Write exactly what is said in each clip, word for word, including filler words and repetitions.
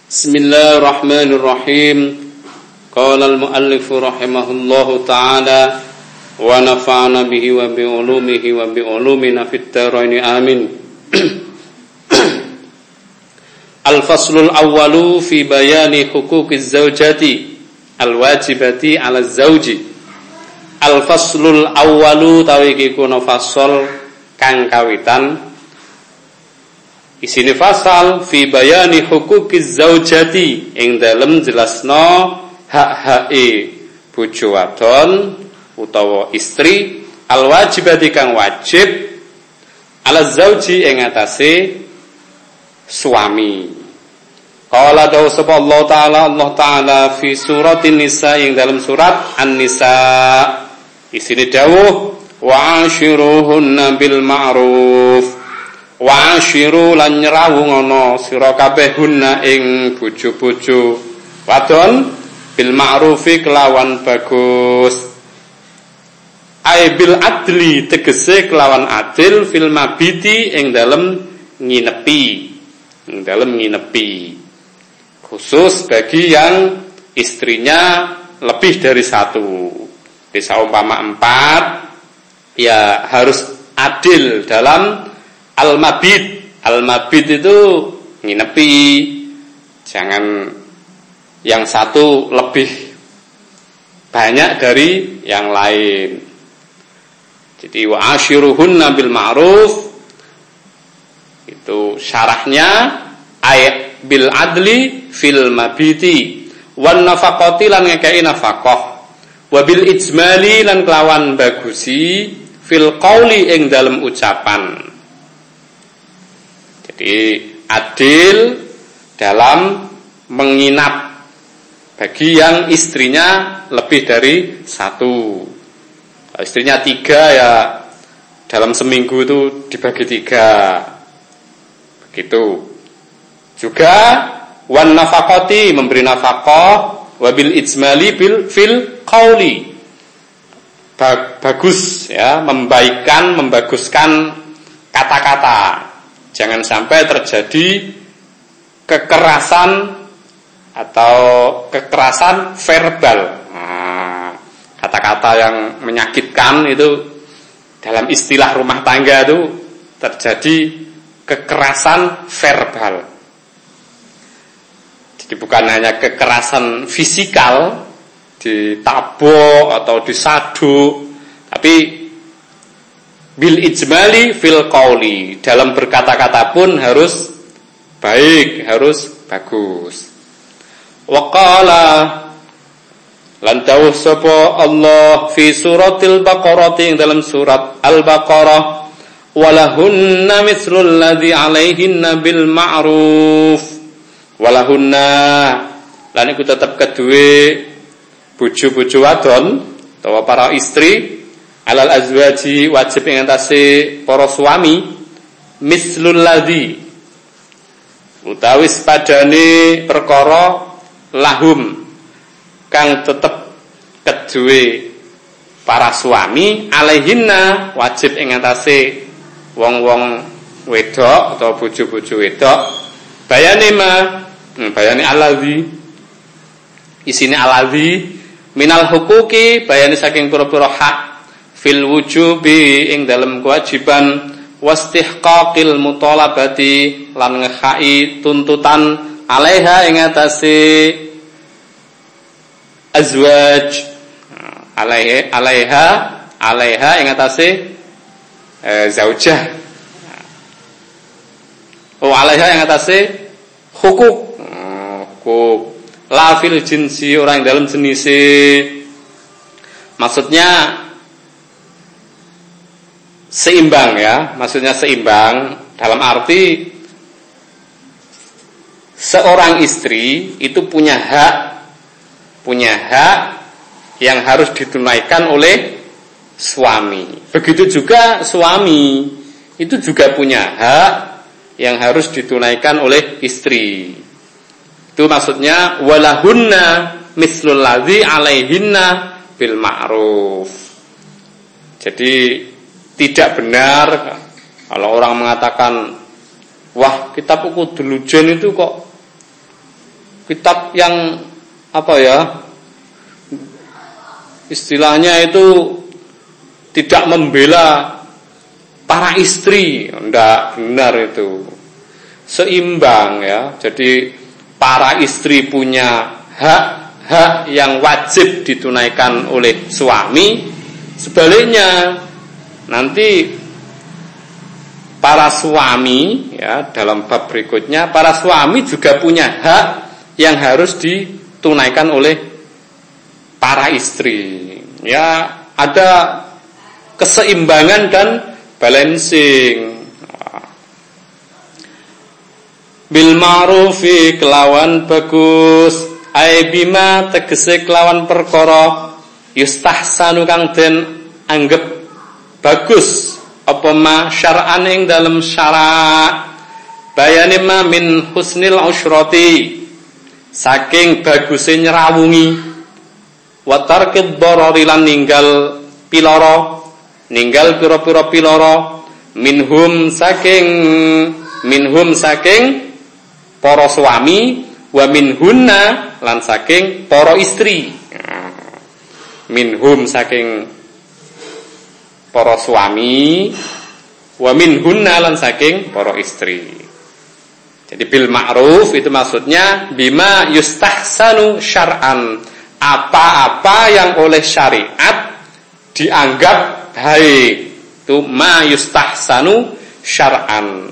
Bismillahirrahmanirrahim. Qala al-muallif rahimahullahu ta'ala wa nafa'ana bihi wa bi ulumihi wa bi ulumina fid dharain amin. Al-faslul awwalu fi bayani huquqiz zawjati al-wajibati 'ala az-zawji. Al-faslul awwalu tawi iki kuna fasal kang kawitan isine fasal fi bayani huquqiz zaujati ing dalem jelasno hak-hake bojo wadon utawa istri al wajibati kang wajib ala zauji ing atase suami. Qala dawu sapa Allah taala Allah taala fi suratin nisa ing dalem surat An-Nisa isine dawuh wa ashiruhunna bil ma'ruf wa ashiru lan nyrawungono sira kabeh hunna ing bojo-bojo wadon bil ma'rufi kelawan bagus ai bil adli tegese kelawan adil fil mabiti ing dalem nginepi ing dalem nginepi khusus bagi yang istrinya lebih dari satu. Di saumpama empat ya harus adil dalam al-mabit. Al-mabit itu nginepi. Jangan yang satu lebih banyak dari yang lain. Jadi wa ashiruhunna bil ma'ruf itu syarahnya ayat bil adli fil mabiti wan nafaqati lan ngekei nafaqah wa bil ijmali lan kelawan bagusi fil qauli ing dalem ucapan. Jadi adil dalam menginap bagi yang istrinya lebih dari satu. Kalau istrinya tiga ya dalam seminggu itu dibagi tiga. Begitu. Juga wan nafaqati memberi nafaqah wa bil ijmali bil fil qauli. Bagus ya, membaikkan, membaguskan kata-kata. Jangan sampai terjadi kekerasan atau kekerasan verbal. Nah, kata-kata yang menyakitkan itu dalam istilah rumah tangga itu terjadi kekerasan verbal. Jadi bukan hanya kekerasan fisikal, ditabok atau disaduk, tapi bil ijmali fil qauli, dalam berkata-kata pun harus baik, harus bagus. Wa qala lan dawuh sapa Allah fi suratil Baqarah ing dalam surat Al-Baqarah walahunna mithlul ladzi 'alaihinna bil ma'ruf. Walahunna lan iku tetep kedue bojo-bojo wadon utawa para istri alal azwaji wajib ing atase para suami mislul ladzi utawi padane perkara lahum kang tetep kedue para suami alaihinna wajib ing atase wong-wong wedok atau bojo-bojo wedok bayane ma hmm, bayane aladzi isine aladzi minal huquqi bayane saking pira-pira hak fil wujubi ing dalem kewajiban wastihqaqil mutalabati lan ngehai tuntutan alaiha ing atase azwaj alaiha alaiha alaiha ing atase e, zaujah oh alaiha ing atase hukuk hukuk la fil jinsi orang dalam jenise maksudnya seimbang ya, maksudnya seimbang dalam arti seorang istri itu punya hak punya hak yang harus ditunaikan oleh suami. Begitu juga suami itu juga punya hak yang harus ditunaikan oleh istri. Itu maksudnya walahunna mislul ladzi 'alaihinna bil ma'ruf. Jadi tidak benar kalau orang mengatakan, wah kitab kudu delujen itu kok kitab yang apa ya, istilahnya itu tidak membela para istri, tidak benar itu, seimbang ya. Jadi para istri punya hak-hak yang wajib ditunaikan oleh suami, sebaliknya nanti para suami ya, dalam bab berikutnya para suami juga punya hak yang harus ditunaikan oleh para istri. Ya, ada keseimbangan dan balancing. Bil ma'rufi kelawan bagus, ai bima tegese kelawan perkara yustahsanu kang den anggap bagus apa ma syar'an ing dalem syara', bayane ma min husnil usrati, saking baguse nyrawungi, wa tarkid darari lan ninggal piloro, ninggal pira-pira piloro, minhum saking minhum saking para suami, wa minhunna lan saking para istri. Minhum saking para suami, wa minhunna lan saking para istri. Jadi bil ma'ruf itu maksudnya bima yustahsanu syar'an, apa-apa yang oleh syariat dianggap baik, itu ma yustahsanu syar'an.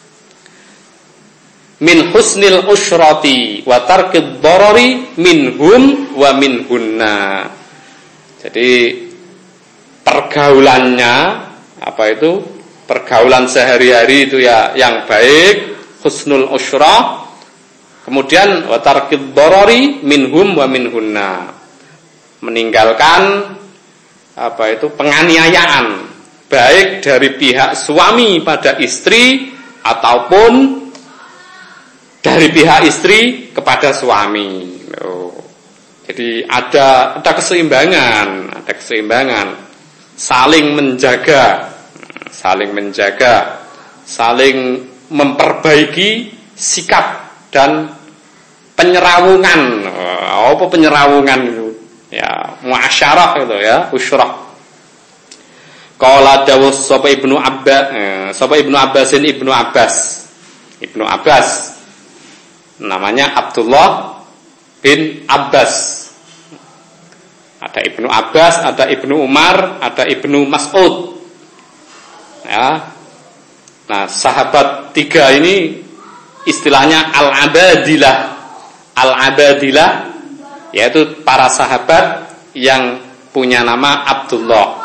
Min husnil usrati wa tarkid darari minhum wa minhunna. Jadi pergaulannya apa itu? Pergaulan sehari-hari itu ya yang baik, husnul usrah. Kemudian wa tarkid darari minhum wa minhunna. Meninggalkan apa itu? Penganiayaan baik dari pihak suami pada istri ataupun dari pihak istri kepada suami. Oh. Jadi ada ada keseimbangan, ada keseimbangan. Saling menjaga, saling menjaga, saling memperbaiki sikap dan penyerawungan. Oh, apa penyerawungan itu? Ya, muasyarah itu ya, usyrah. Qala dawus sapa Ibnu Abbas, eh, sapa Ibnu Abbasin Ibnu Abbas. Ibnu Abbas namanya Abdullah bin Abbas. Ada Ibnu Abbas, ada Ibnu Umar, ada Ibnu Mas'ud. Ya. Nah, sahabat tiga ini istilahnya al-abadilah. Al-abadilah yaitu para sahabat yang punya nama Abdullah.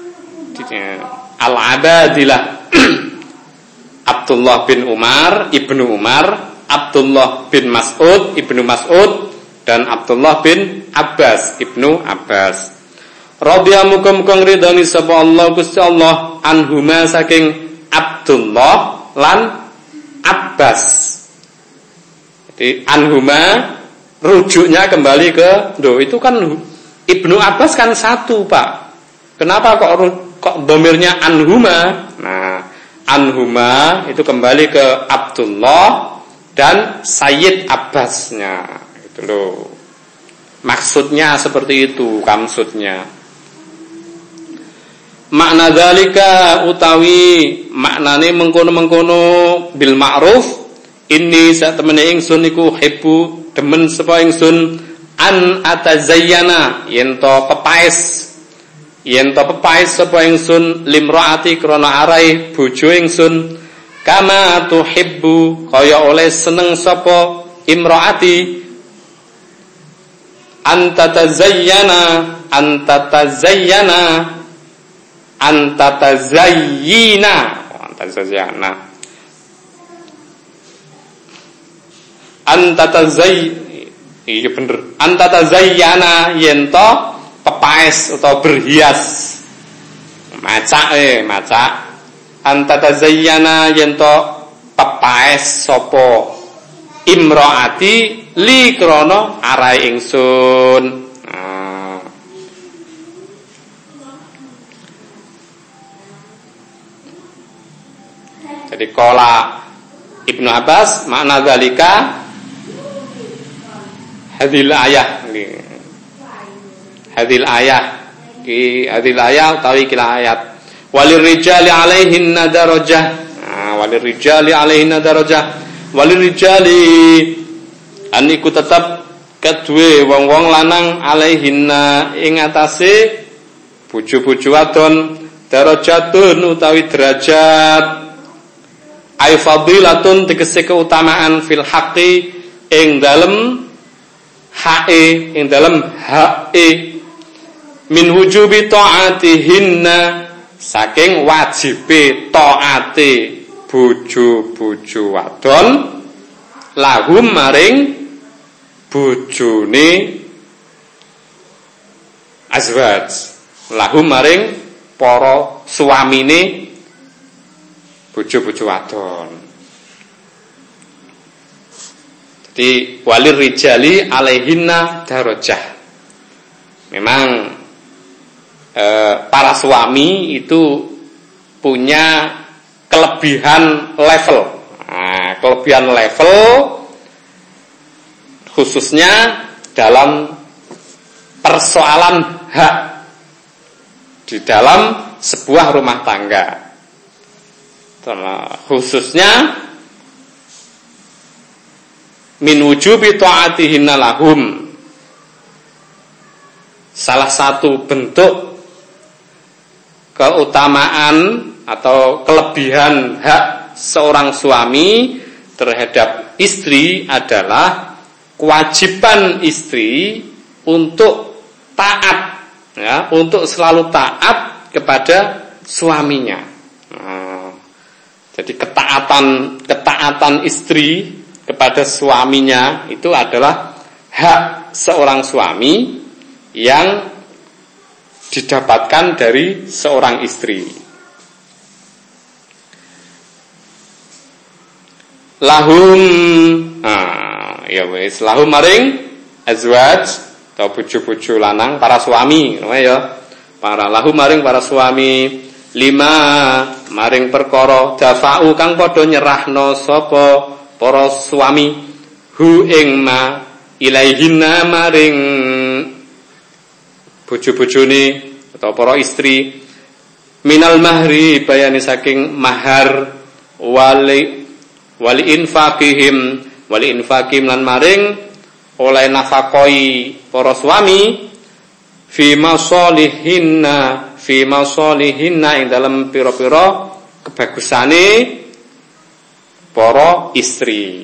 Al-abadilah. Abdullah bin Umar, Ibnu Umar, Abdullah bin Mas'ud, Ibnu Mas'ud, dan Abdullah bin Abbas, Ibnu Abbas. Radhiyallahu muga-muga ridhani sapa Allah Gusti Allah anhuma saking Abdullah lan Abbas. Jadi anhuma rujuknya kembali ke do itu kan Ibnu Abbas kan satu, Pak. Kenapa kok kok dhamirnya anhuma? Nah, anhuma itu kembali ke Abdullah dan Sayyid Abbasnya. Loh. Maksudnya seperti itu, maksudnya. Makna dzalika utawi maknane mengkono-mengkono bil ma'ruf, inni sak temene ingsun iku hibbu demen sapa ingsun an atazayyana yen to pepaes yen to pepaes sapa ingsun limraati krana arai bojo ingsun kama tuhibbu kaya oleh seneng sapa imraati antatazayyana antatazayyana antatazayyina antatazayyana antatazay iya bener antatazayyana yento pepaes atau berhias macak eh macak antatazayyana yento pepaes sapa imraati li krono arai ingsun. Nah. Jadi qala Ibnu Abbas makna dzalika hadil ayah nggih. Hadil ayah ki hadil ayah utawi kila ayat. Walir rijali alaihinna darajah. Nah, walir rijali alaihinna darajah. Walir rijali aniku tetep kedue wong-wong lanang alaihinna ing atase bojo-bojo wadon darajatun utawi derajat. Ai fadilatun tegese keutamaan fil haqqi ing dalem hae ing dalem hae min wujubi taatihinna saking wajibe taate bojo-bojo wadon lahum maring bojone azwaj lahum maring para suamine bojo-bojo wadon. Jadi walir rijali alaihinna darajah. Memang e, para suami itu punya kelebihan level. Nah, kelebihan level khususnya dalam persoalan hak di dalam sebuah rumah tangga. Khususnya min wujubi ta'atihinna lahum. Salah satu bentuk keutamaan atau kelebihan hak seorang suami terhadap istri adalah kewajiban istri untuk taat, ya, untuk selalu taat kepada suaminya. Nah, jadi ketaatan ketaatan istri kepada suaminya itu adalah hak seorang suami yang didapatkan dari seorang istri. Lahum, nah, ya wis lahum maring azwaj atau bojo-bojo lanang para suami, ya. Para lahum maring para suami lima maring perkara dafa'u kang padha nyerahno sapa para suami hu ing ma ilaihinna maring bojo-bojone atau para istri minal mahri bayani saking mahar wali wali infaqihim wali infaqim lan maring oleh nafakoi para suami fi masalihinna fi masalihinna ing dalam pira-pira kebagusane para istri.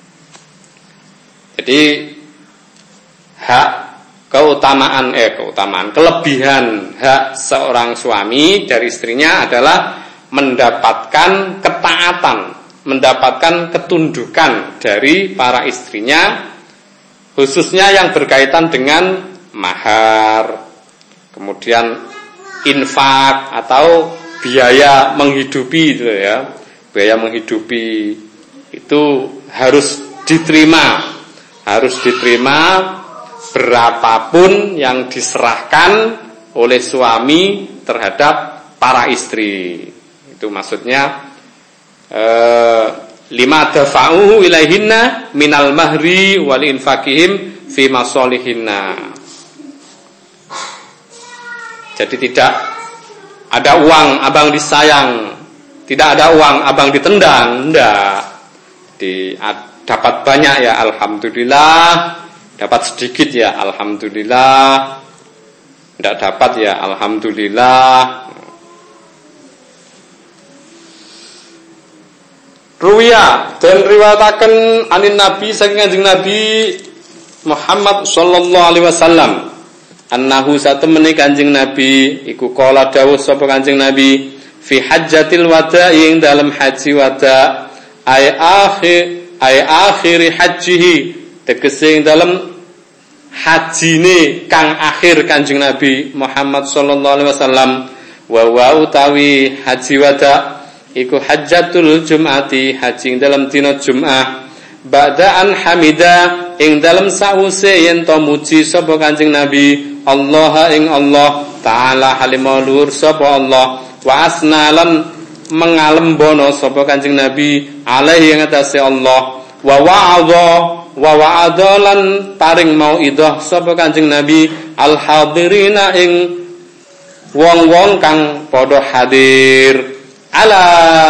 Jadi hak keutamaan eh keutamaan kelebihan hak seorang suami dari istrinya adalah mendapatkan ketaatan, mendapatkan ketundukan dari para istrinya, khususnya yang berkaitan dengan mahar, kemudian infak atau biaya menghidupi itu ya. Biaya menghidupi itu harus diterima, harus diterima berapapun yang diserahkan oleh suami terhadap para istri. Itu maksudnya eh, lima dafa'u ilaihinna minal mahri wal infaqihim fi masalihinna. Jadi tidak ada uang abang disayang, tidak ada uang abang ditendang, enggak. Di, dapat banyak ya alhamdulillah, dapat sedikit ya alhamdulillah, enggak dapat ya alhamdulillah. Ruwiya dan riwayataken anin Nabi saking Kanjeng Nabi Muhammad sallallahu alaihi wasallam annahu satemene Kanjeng Nabi iku kala dawuh sapa Kanjeng Nabi fi hajjatil wada ing dalam haji wada ay akhir ay akhiri hajihi tegese ing dalam hajine kang akhir Kanjeng Nabi Muhammad sallallahu alaihi wasallam wa wa utawi haji wada iku hajjatul jum'ati haji ing dalam dina Jumat ba'da an hamida ing dalam sause yen to muji sapa Kanjeng Nabi Allah ing Allah taala halimulur sapa Allah wa asnalan mengalembono sapa Kanjeng Nabi alaihi ing atase Allah wa wa'adha wa wa'adalan paring mauidhah sapa Kanjeng Nabi al hadirina ing wong-wong kang padha hadir ala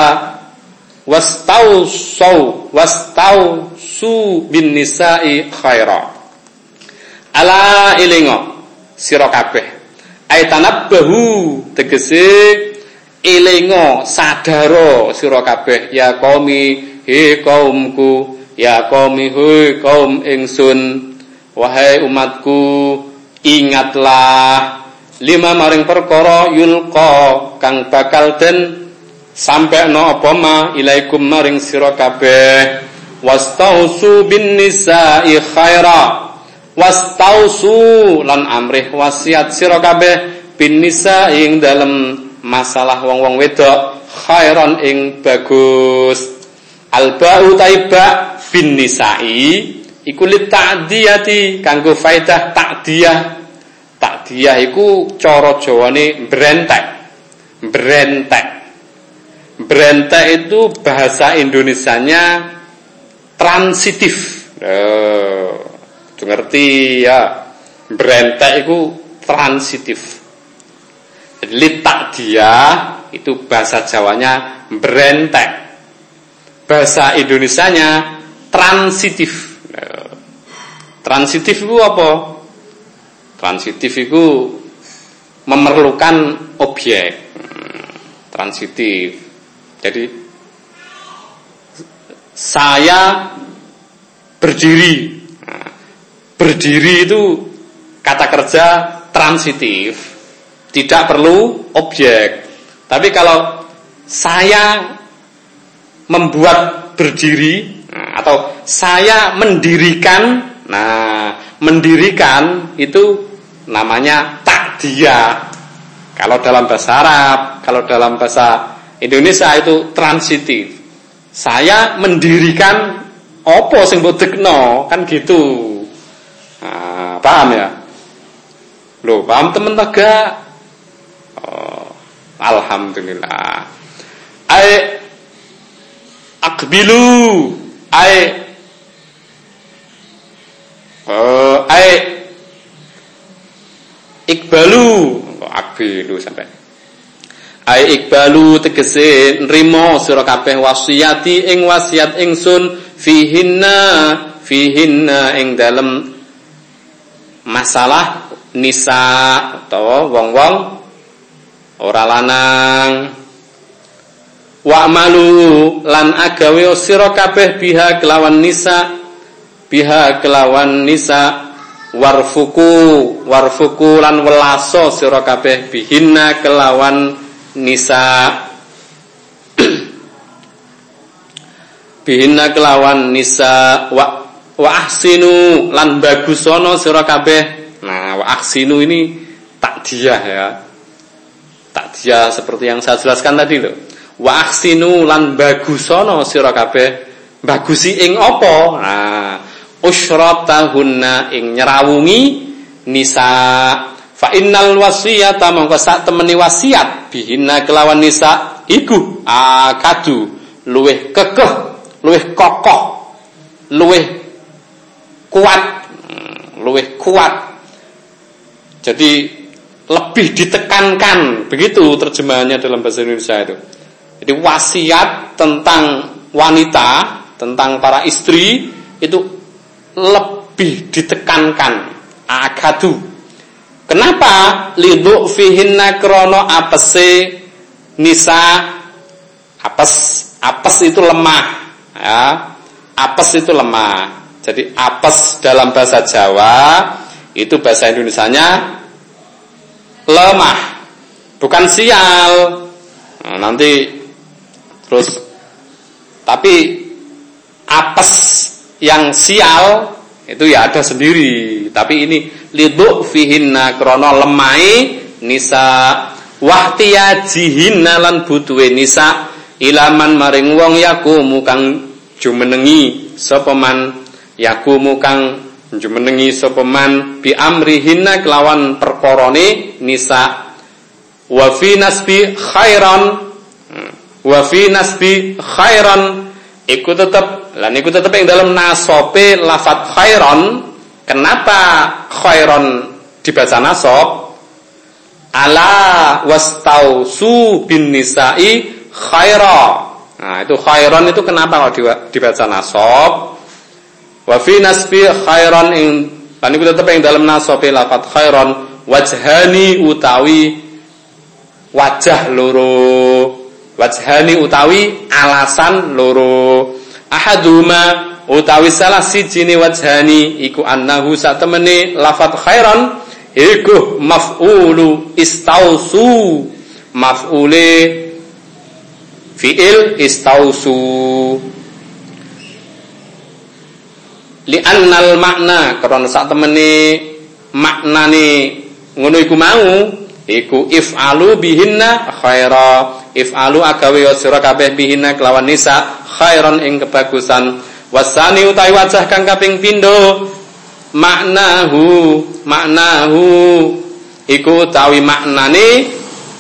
wastausu wastausu bin nisa'i khaira ala ilingo sira kabeh aitanabbahu tegese ilingo sadaro sira kabeh ya qaumi he kaumku ya qaumi he kaum ingsun wahai umatku ingatlah lima maring perkara yulqa kang bakal den sampeno apa ma ilaikum maring sira kabeh wastausu bin nisa'i khaira wastausu lan amrih wasiat sira kabeh bin nisa'i ing dalem masalah wong-wong wedok khairan ing bagus alba'u taiba bin nisa'i iku li ta'diyati kanggo faedah ta'diyah ta'diyah iku cara Jawane brentek brentek brentek itu bahasa Indonesianya transitif oh, ngerti ya brentek itu transitif li ta'diyah itu bahasa Jawanya brentek bahasa Indonesianya transitif. Transitif itu apa? Transitif itu memerlukan objek. Transitif. Jadi saya berdiri. Berdiri itu kata kerja transitif. Tidak perlu objek. Tapi kalau saya membuat berdiri atau saya mendirikan, nah mendirikan itu namanya ta'diyah. Kalau dalam bahasa Arab, kalau dalam bahasa Indonesia itu transitif. Saya mendirikan apa sing mbok dekno, kan gitu. Nah, paham ya? Loh, paham temen tegak? Oh, alhamdulillah. Ai akbilu ai oh ai ikbalu kok akbilu sampai ai ikbalu tegese nrimo sira kabeh wasiati ing wasiat ingsun fihinna fihinna ing dalem masalah nisa utawa wong-wong ora lanang wa'malu lan agawe sira kabeh biha kelawan nisa biha kelawan nisa warfuku warfuku lan welaso sira kabeh bihinna kelawan nisa bihinna kelawan nisa wa wa ahsinu lan bagusono sira kabeh. Nah, wa ahsinu ini takdiyah ya. Takdiyah seperti yang saya jelaskan tadi loh. Wa ahsinu lan bagusono sira kabeh bagusi ing apa? Nah, usyratahunna ing nyerawungi nisa fa innal wasiyata mongko sak temeni wasiat bihinna kelawan nisa iku akadu luweh kekeh luweh kokoh luweh kuat luweh kuat jadi lebih ditekankan begitu terjemahannya dalam bahasa Indonesia itu. Jadi wasiat tentang wanita, tentang para istri itu lebih ditekankan. Akadu. Kenapa? Lidhu fihinna krono apese nisa apes apes itu lemah ya. Apes itu lemah. Jadi apes dalam bahasa Jawa itu bahasa Indonesianya lemah, bukan sial. Nah, nanti terus tapi apes yang sial itu ya ada sendiri. Tapi ini lidhu fihinna krono lemai nisa wahtiyajihinna lan butuhe nisa ilaman maring wong yakumu kang jumenengi sapa man yakumu kang jumenengi sapa man bi amrihinna kelawan perkorone nisa wa fi nasbi khairan wa fi nasbi khairan iku tetep Lan iku tetep ing dalam nasobe lafat khairon. Kenapa khairon dibaca nasab? Ala wastausu bin nisa'i khaira. Nah, itu khairon itu kenapa kalau dibaca nasab? Wa fi nasbi khairon ing lan iku tetep ing dalam nasabe lafat khairon wajhani utawi wajah loro. Wajhani utawi alasan loro. Ahaduma utawi salah sijine wajhani iku annahu satemene lafat khairon iku maf'ulu istausu, maf'ule fi'il istausu. Li'annal makna karena sak temene maknane ngono iku mau iku if'alu bihinna khaira, if'alu agawe sira kabeh bihinna kelawan nisa khairan ing kebagusan. Wasani utawi wajah kang kaping pindho maknahu, maknahu iku utawi maknane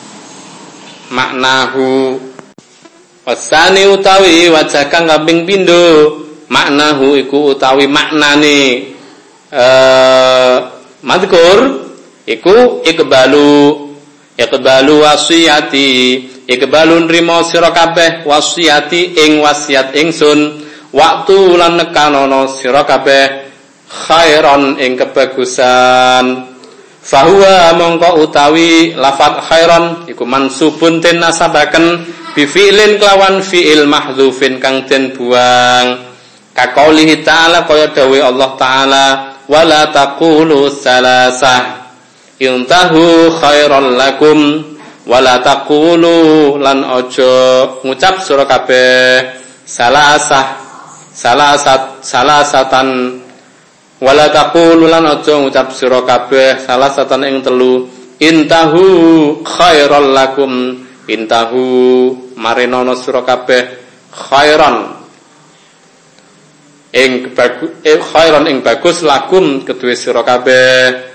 maknahu. Wasani utawi wajah kang kaping pindho maknahu iku utawi maknane eh madhkur iku ikbalu, ikbalu wasiyati, ikbalun rimo sira kabeh wasiyati ing wasiat ingsun, waktu lan nekanono sira kabeh khairon ing kebagusan. Fahuwa mongko utawi lafat khairon iku mansubun den nasabaken bi fi'lin kelawan fi'il mahdzufin kang den buang. Ka qaulihi ta'ala kaya dawuh Allah taala wala taqulu salasah intahu khairon lakum wala taqulu lan ojo ngucap sira kabeh salasah salasat salasatan wala taqulu lan ojo ngucap sira kabeh salasatan ing telu intahu khairon lakum intahu marenono sira kabeh khairon ing bagus eh, khairon ing bagus lakum kedue sira kabeh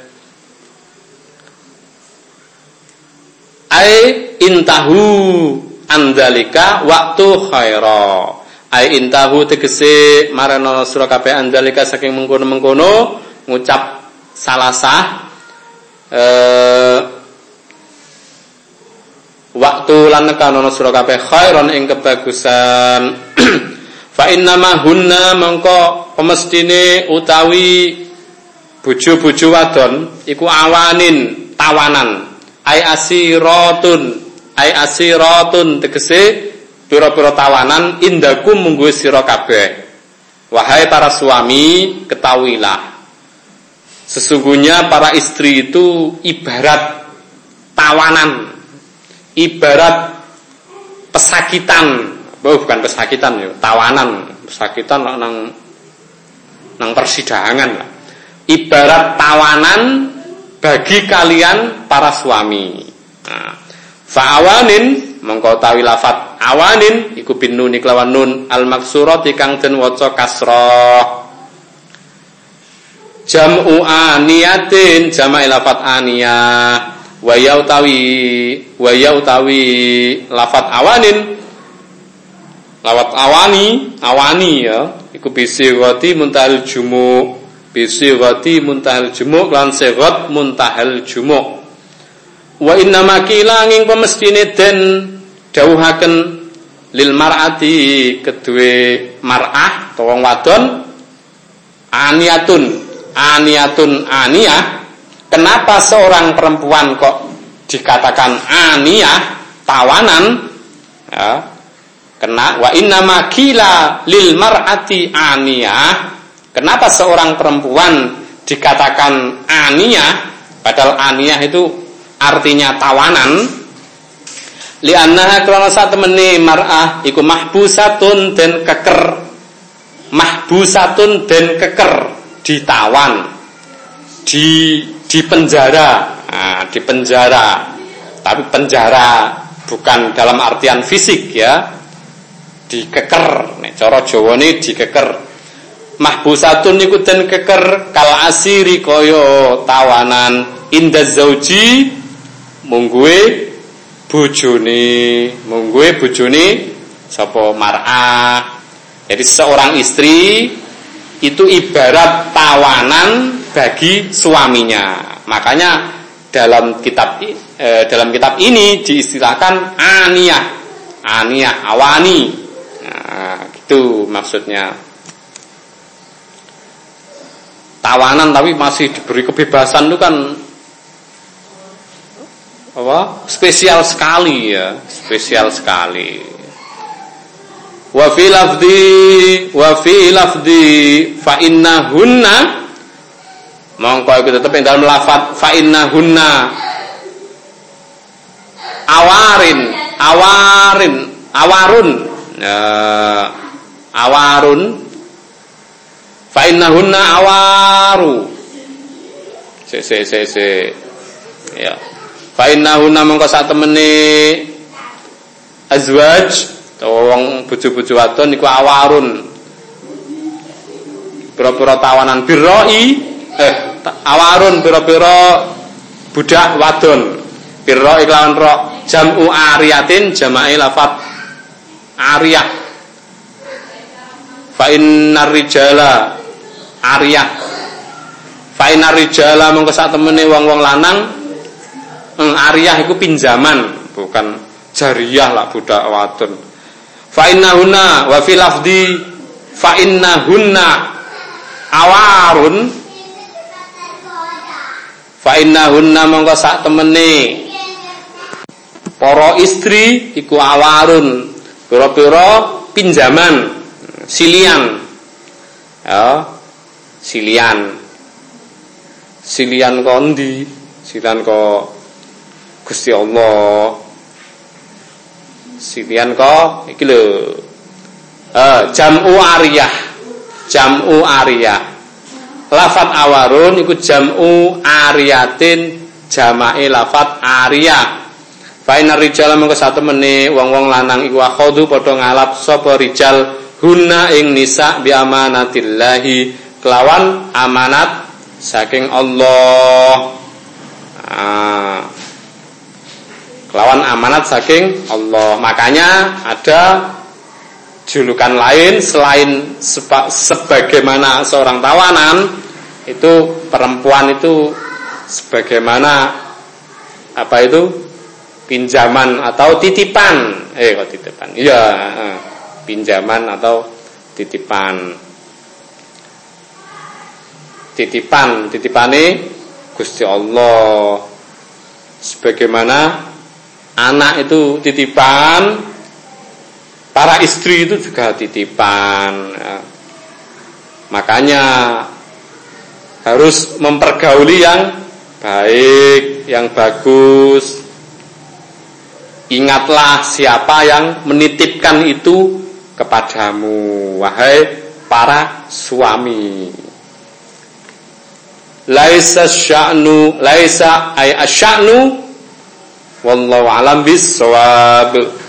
ai intahu andalika waktu khaira, ai intahu tegese marana sira kabeh andalika saking mengkono-mengkono ngucap salasah eh waktu lan nekanono sira kabeh khairon ing kebagusan. Fa innama hunna mangko pemestine utawi bojo-bojo wadon iku awanin tawanan, ai asiratun, ai asiratun tegese pira-pira tawanan indakum munggu sira kabeh. Wahai para suami, ketahuilah sesungguhnya para istri itu ibarat tawanan, ibarat pesakitan. Oh, bukan pesakitan ya, tawanan. Pesakitan nang nang persidangan lah. Ibarat tawanan bagi kalian para suami. Nah, fa'awanin mengko tawi lafat awanin iku bin nun kelawan nun al maksurati kang den waca kasrah. Jam'u aniyatin jama'i lafat aniyah wa ya utawi wa ya utawi lafat awanin lawat awani, awani ya, iku bisighati muntahal jumu, bisighati muntahal jumu lan sighat muntahal jumu. Wa inna makila nging pemestine den dawuhaken lil mar'ati kedue mar'ah utawa wong wadon aniyatun, aniyatun aniyah. Kenapa seorang perempuan kok dikatakan aniyah, tawanan? Ya. Kena wa inna makila lil mar'ati aniyah. Kenapa seorang perempuan dikatakan aniyah padahal aniyah itu artinya tawanan? Li'annaha krana satemene mar'ah iku mahbusatun den keker, mahbusatun den keker, ditawan, di di penjara. Nah, di penjara. Tapi penjara bukan dalam artian fisik ya. Dikeker, nek cara Jawane dikeker. Mahbusatun niku den keker kal asiri kaya tawanan indaz zauji mungguwe bojone, mungguwe bojone sapa mar'ah. Jadi seorang istri itu ibarat tawanan bagi suaminya. Makanya dalam kitab eh, dalam kitab ini diistilahkan aniyah, aniyah, awani. Nah, gitu maksudnya. Tawanan tapi masih diberi kebebasan itu kan apa? Spesial sekali ya, spesial sekali. Wa fi lafdi wa fi lafdi fa innahunna mongko iku tetep ing dalam lafaz fa innahunna awarin awarin awarun ya, awarun fa innahunna awaru se se se se ya fa innahunna mongko sak temene azwaj wong bojo-bojo wadon niku awarun. Pira-pira tawanan birroi eh awarun pira-pira budak wadon. Birroi kelawan ro jam'u ariyatin jama'i lafat ariyah. Fa innar rijala ariyah. Fa innar rijala mongko sak temene wong-wong lanang eng ariyah iku pinjaman, bukan jariyah lah budak wadon. Fa innahunna wa fi lafdi fa innahunna awarun fa innahunna mongko sak temene para istri iku awarun pira-pira pinjaman silian ya silian silian kondi silian ko Gusti Allah silian ko iki lho eh jam'u ariyah jam'u ariyah lafat awarun iku jam'u ariyatin jama'i lafat ariyah fa inar rijal mengko satemene wong-wong lanang iku akhodu padha ngalap sapa rijal hunna ing nisa bi amanatillahi kelawan amanat saking Allah ah lawan amanat saking Allah. Makanya ada julukan lain selain seba, sebagaimana seorang tawanan itu perempuan itu sebagaimana apa itu pinjaman atau titipan. Eh kok titipan? Iya, eh, pinjaman atau titipan. Titipan, titipane Gusti Allah. Sebagaimana anak itu titipan, para istri itu juga titipan ya. Makanya harus mempergauli yang baik, yang bagus. Ingatlah siapa yang menitipkan itu kepadamu, wahai para suami. Laisa sya'nu laisa ay asy'anu wallahu alam bis shawab.